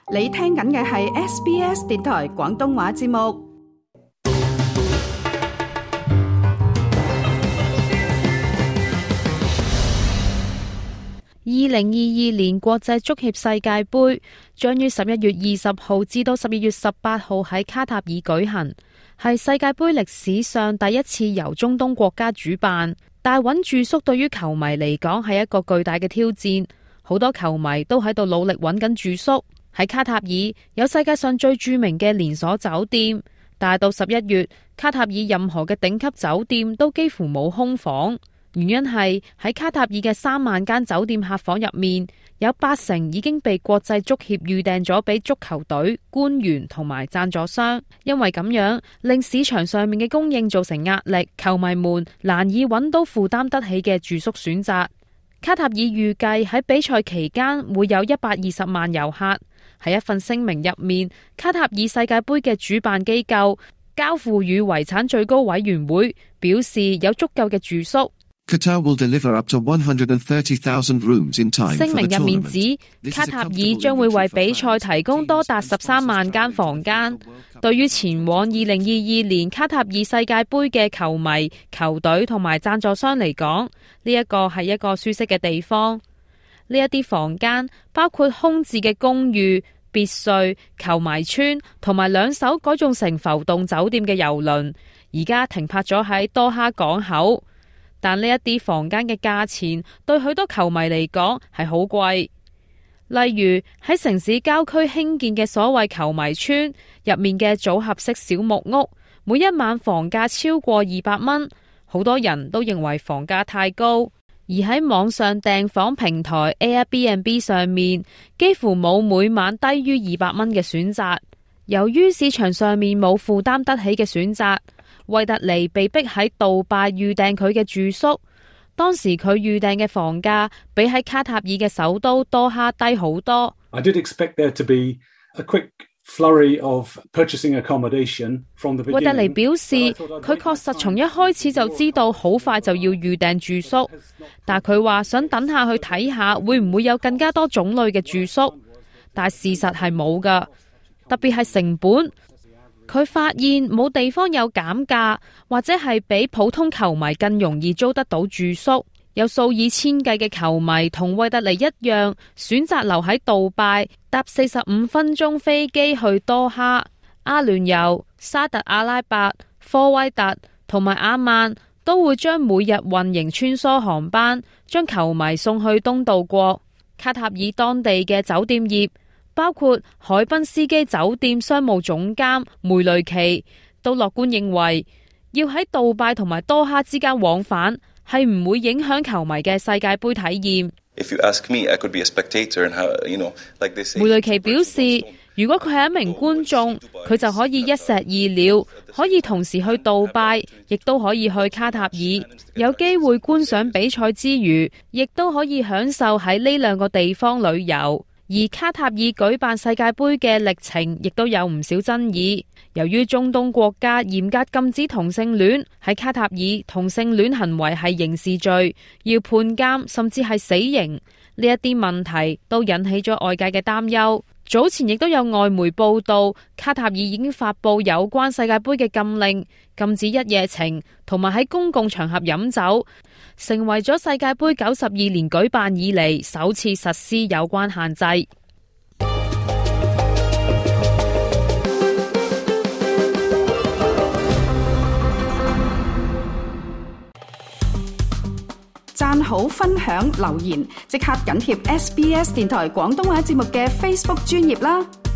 你聽緊嘅係 SBS 電台廣東話節目。 2022年國際足協世界盃將於11月20號至到12月18號喺卡塔爾舉行，係世界盃歷史上第一次由中東國家主辦。但揾住宿對於球迷嚟講係一個巨大嘅挑戰，好多球迷都喺度努力揾緊住宿。喺卡塔爾有世界上最著名嘅連鎖酒店，但係到11月，卡塔爾任何嘅頂級酒店都幾乎冇空房。原因係喺卡塔爾嘅3萬間酒店客房入面，有80%已經被國際足協預訂咗俾足球隊、官員同埋贊助商。因為咁樣令市場上面嘅供應造成壓力，球迷們難以揾到負擔得起嘅住宿選擇。卡塔爾預計喺比賽期間會有120萬遊客。喺一份聲明入面，卡塔爾世界盃嘅主辦機構交付與遺產最高委員會表示有足夠嘅住宿。 Qatar will deliver up to 130,000 rooms in time. 聲明入面指，卡塔爾將會為比賽提供多達13萬間房間。對於前往2022年卡塔爾世界盃嘅球迷、球隊同埋贊助商嚟講，呢一個係一個舒適嘅地方。呢一啲房間包括空置嘅公寓、別墅、球迷村同埋2艘改造成浮動酒店嘅郵輪，而家停泊咗喺多哈港口。但呢一啲房間嘅價錢對許多球迷嚟講係好貴。例如喺城市郊區興建嘅所謂球迷村入面嘅組合式小木屋，每一晚房價超過200蚊，好多人都認為房價太高。而喺網上訂房平台 Airbnb 上面，幾乎冇每晚低於200蚊嘅選擇。由於市場上面冇負擔得起嘅選擇，惠特尼被逼喺杜拜預訂佢嘅住宿。當時佢預訂嘅房價比喺卡塔爾嘅首都多哈低好多。 I did expect there to be a quick flurry of purchasing accommodation from the beginning. 惠特尼表示，佢確實從一開始就知道好快就要預訂住宿，但佢話想等下去睇下會唔會有更加多種類嘅住宿，但事實係冇㗎，特別係成本。佢發現冇地方有減價，或者係比普通球迷更容易租得到住宿。有數以千計嘅球迷同惠特尼一樣，選擇留喺杜拜，搭45分鐘飛機去多哈、阿聯酋、沙特阿拉伯、科威特同埋阿曼，都會將每日運營穿梭航班，將球迷送去東道國。卡塔爾當地嘅酒店業，包括海濱斯基酒店商務總監梅雷奇都樂觀認為，要喺杜拜同埋多哈之間往返係唔會影響球迷嘅世界盃體驗。梅雷奇表示，如果佢係一名觀眾，佢就可以一石二鳥，可以同時去杜拜，亦都可以去卡塔爾，有機會觀賞比賽之餘，亦都可以享受喺呢2個地方旅遊。而卡塔爾舉辦世界盃嘅歷程亦都有唔少爭議。由於中東國家嚴格禁止同性戀，喺卡塔爾同性戀行為係刑事罪，要判監甚至係死刑。呢一啲問題都引起咗外界嘅擔憂。早前亦都有外媒報道，卡塔爾已經發布有關世界盃嘅禁令，禁止一夜情同埋喺公共場合飲酒，成為咗世界盃92年舉辦以嚟首次實施有關限制。 讚好、分享、留言，即刻緊貼SBS 電台廣東話節目嘅 Facebook 專頁啦！